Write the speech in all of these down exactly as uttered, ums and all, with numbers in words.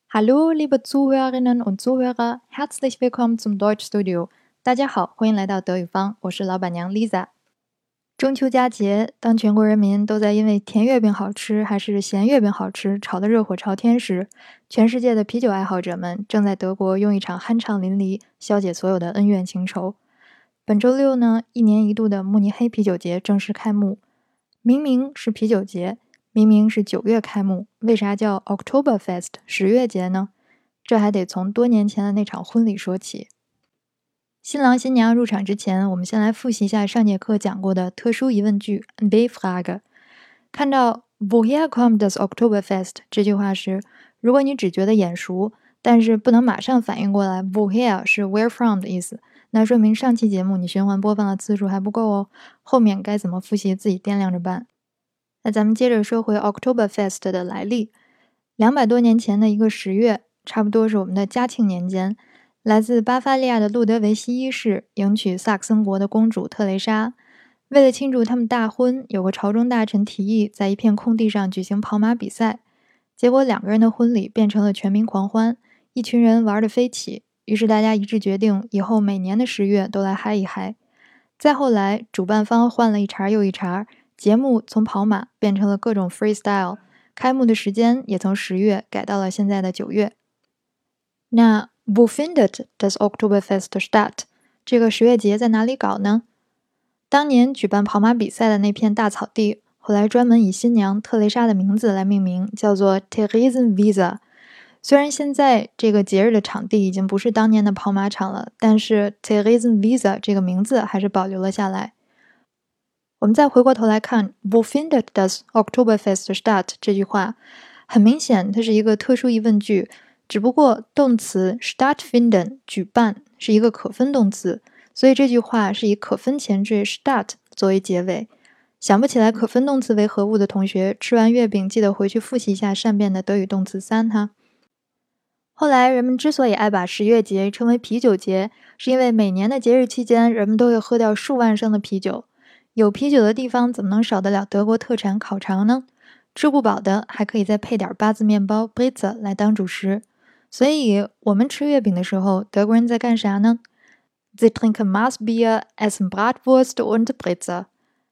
Hallo, liebe Zuhörerinnen und Zuhörer, herzlich willkommen zum Deutschstudio。大家好，欢迎来到德语坊，我是老板娘 Lisa。中秋佳节，当全国人民都在因为甜月饼好吃还是咸月饼好吃吵得热火朝天时，全世界的啤酒爱好者们正在德国用一场酣畅淋漓消解所有的恩怨情仇。本周六呢，一年一度的慕尼黑啤酒节正式开幕。明明是啤酒节，明明是九月开幕，为啥叫 Oktoberfest 十月节呢？这还得从多年前的那场婚礼说起。新郎新娘入场之前，我们先来复习一下上节课讲过的特殊疑问句 B-Frage。看到 Woher kommt das Oktoberfest 这句话时，如果你只觉得眼熟，但是不能马上反应过来 Woher 是 where from 的意思，那说明上期节目你循环播放的次数还不够哦，后面该怎么复习自己掂量着办。那咱们接着说回 Oktoberfest 的来历。两百多年前的一个十月，差不多是我们的嘉庆年间，来自巴伐利亚的路德维希一世迎娶萨克森国的公主特蕾莎。为了庆祝他们大婚，有个朝中大臣提议在一片空地上举行跑马比赛。结果两个人的婚礼变成了全民狂欢，一群人玩得飞起，于是大家一致决定以后每年的十月都来嗨一嗨。再后来，主办方换了一茬又一茬，节目从跑马变成了各种 freestyle， 开幕的时间也从十月改到了现在的九月。那 Wo findet das Oktoberfest statt？ 这个十月节在哪里搞呢？当年举办跑马比赛的那片大草地，后来专门以新娘特蕾莎的名字来命名，叫做 Theresienwiese。虽然现在这个节日的场地已经不是当年的跑马场了，但是 Theresienwiese 这个名字还是保留了下来。我们再回过头来看 Wo findet das Oktoberfest statt 这句话，很明显它是一个特殊疑问句，只不过动词 stattfinden 举办是一个可分动词，所以这句话是以可分前缀 statt 作为结尾。想不起来可分动词为何物的同学，吃完月饼记得回去复习一下善变的德语动词三哈。后来人们之所以爱把十月节称为啤酒节，是因为每年的节日期间，人们都会喝掉数万升的啤酒。有啤酒的地方怎么能少得了德国特产烤肠呢？吃不饱的还可以再配点八字面包 Brezel 来当主食。所以我们吃月饼的时候，德国人在干啥呢？ Sie trinken Maßbier, essen Bratwurst und Brezel。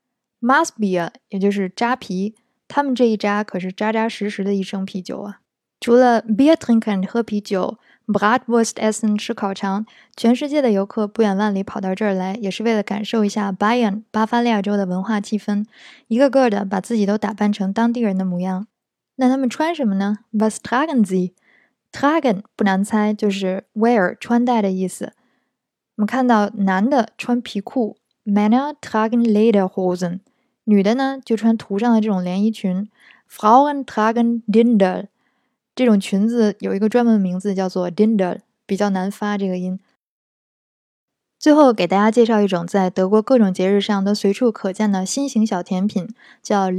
Maßbier 也就是扎啤，他们这一扎可是扎扎实实的一升啤酒啊。除了 Bier trinken 喝啤酒， Bratwurst essen 吃烤肠，全世界的游客不远万里跑到这儿来，也是为了感受一下 Bayern 巴伐利亚州的文化气氛，一个个的把自己都打扮成当地人的模样。那他们穿什么呢？ Was tragen sie？ Tragen 不难猜，就是 wear 穿戴的意思。我们看到男的穿皮裤 Männer tragen Lederhosen， 女的呢就穿图上的这种连衣裙 Frauen tragen Dirndl。这种裙子有一个专门的名字叫做 Dirndl， 比较难发这个音。最后给大家介绍一种在德国各种节日上都随处可见的新型小甜品，叫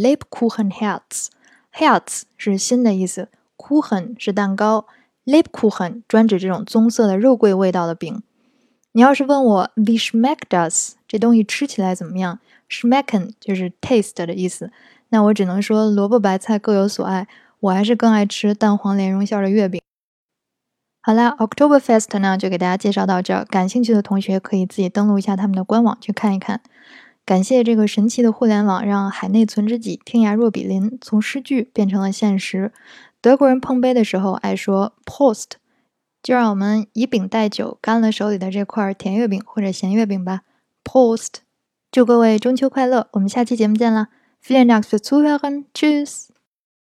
Lebkuchenherz。Herz 是新的意思， Kuchen 是蛋糕， Lebkuchen 专指这种棕色的肉桂味道的饼。你要是问我 Wie schmeckt das？ 这东西吃起来怎么样？ Schmecken 就是 taste 的意思，那我只能说萝卜白菜各有所爱，我还是更爱吃蛋黄莲蓉馅的月饼。好啦 Oktoberfest 呢就给大家介绍到这儿，感兴趣的同学可以自己登录一下他们的官网去看一看。感谢这个神奇的互联网，让海内存知己，天涯若比邻从诗句变成了现实。德国人碰杯的时候爱说 Prost， 就让我们以饼代酒，干了手里的这块甜月饼或者咸月饼吧。 Prost！ 祝各位中秋快乐，我们下期节目见啦。Vielen Dank fürs Zuhören. Tschüss!